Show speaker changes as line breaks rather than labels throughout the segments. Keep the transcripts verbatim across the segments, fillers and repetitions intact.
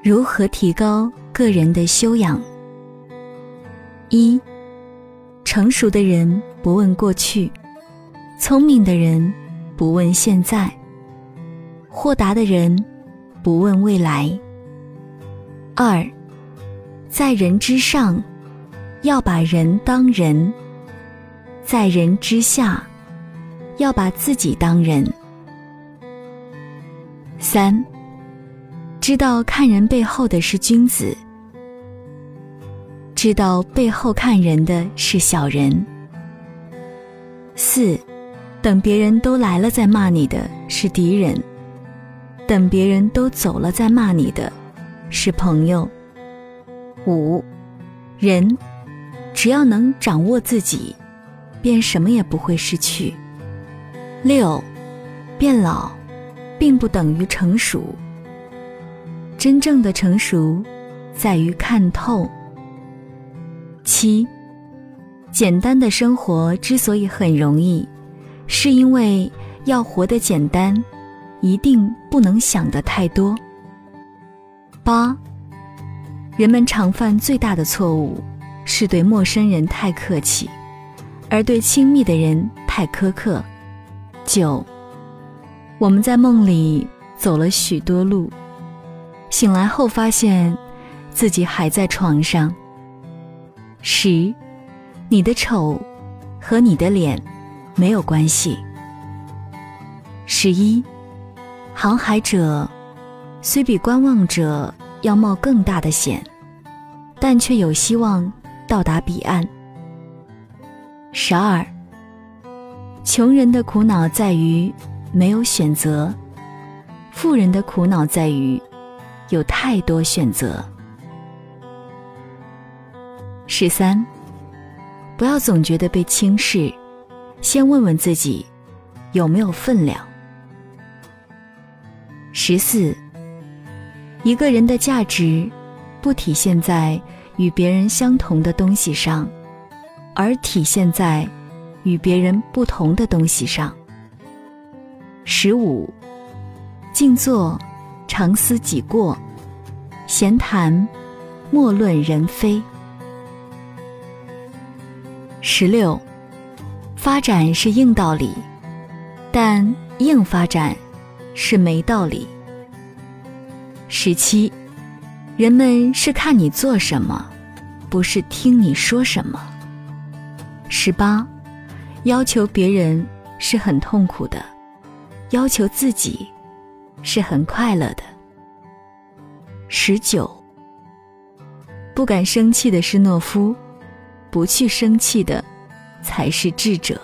如何提高个人的修养？一，成熟的人不问过去，聪明的人不问现在，豁达的人不问未来。二，在人之上，要把人当人；在人之下，要把自己当人。三，知道看人背后的是君子，知道背后看人的是小人。四，等别人都来了再骂你的是敌人，等别人都走了再骂你的是朋友。五，人只要能掌握自己，便什么也不会失去。六，变老并不等于成熟，真正的成熟在于看透。七，简单的生活之所以很容易，是因为要活得简单，一定不能想得太多。八，人们常犯最大的错误是对陌生人太客气，而对亲密的人太苛刻。九，我们在梦里走了许多路，醒来后发现自己还在床上。十，你的丑和你的脸没有关系。十一，航海者虽比观望者要冒更大的险，但却有希望到达彼岸。十二，穷人的苦恼在于没有选择，富人的苦恼在于有太多选择。十三，不要总觉得被轻视，先问问自己有没有分量。十四，一个人的价值不体现在与别人相同的东西上，而体现在与别人不同的东西上。十五，静坐常思己过，闲谈莫论人非。十六，发展是硬道理，但硬发展是没道理。十七，人们是看你做什么，不是听你说什么。十八，要求别人是很痛苦的，要求自己是很快乐的。十九，不敢生气的是懦夫，不去生气的才是智者。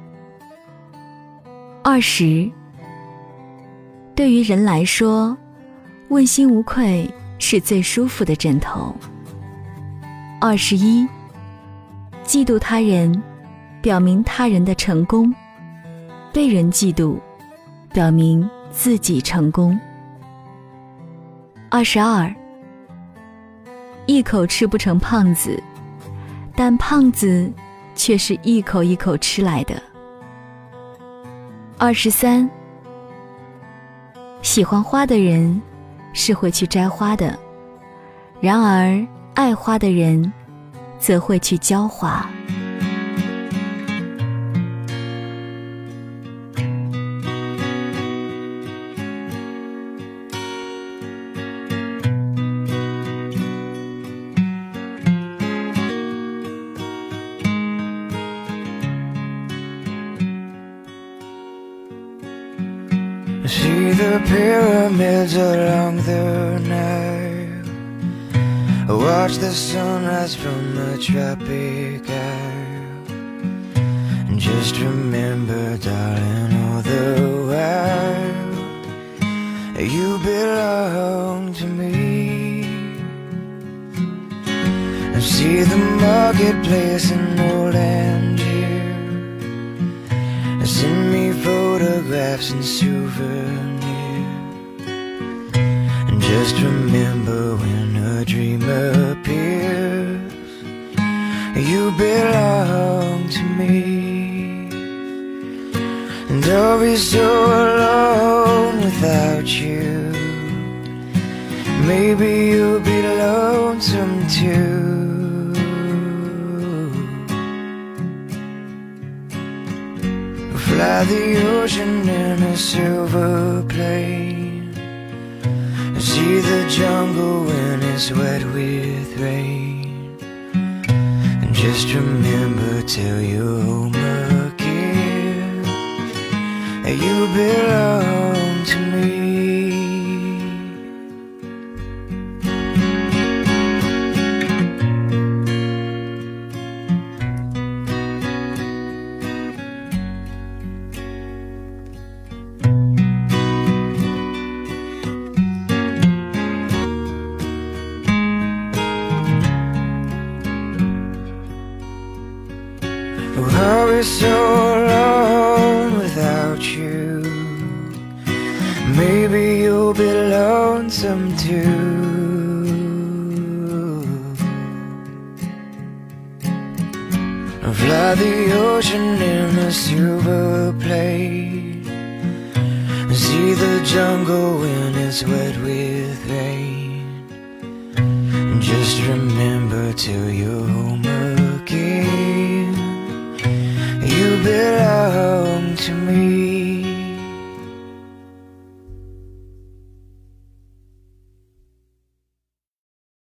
二十，对于人来说，问心无愧是最舒服的枕头。二十一，嫉妒他人表明他人的成功，被人嫉妒表明自己成功。二十二，一口吃不成胖子，但胖子却是一口一口吃来的。二十三，喜欢花的人是会去摘花的，然而爱花的人则会去浇花。
I see the pyramids along the Nile. I watch the sunrise from the tropic isle. And just remember, darling, all the while you belong to me. I see the marketplace in old Angier. Send me photographs and souvenirs. And just remember, when a dream appears, you belong to me. And I'll be so alone without you. maybe you'll be lonesome too. Fly the ocean in a silver plane, see the jungle when it's wet with rain, and just remember till you're home again that you belong to me. Oh, I'll be so alone without you. Maybe you'll be lonesome too. I'll fly the ocean in a silver plane, see the jungle when it's wet with rain, and just remember till you're home again, you belong to me.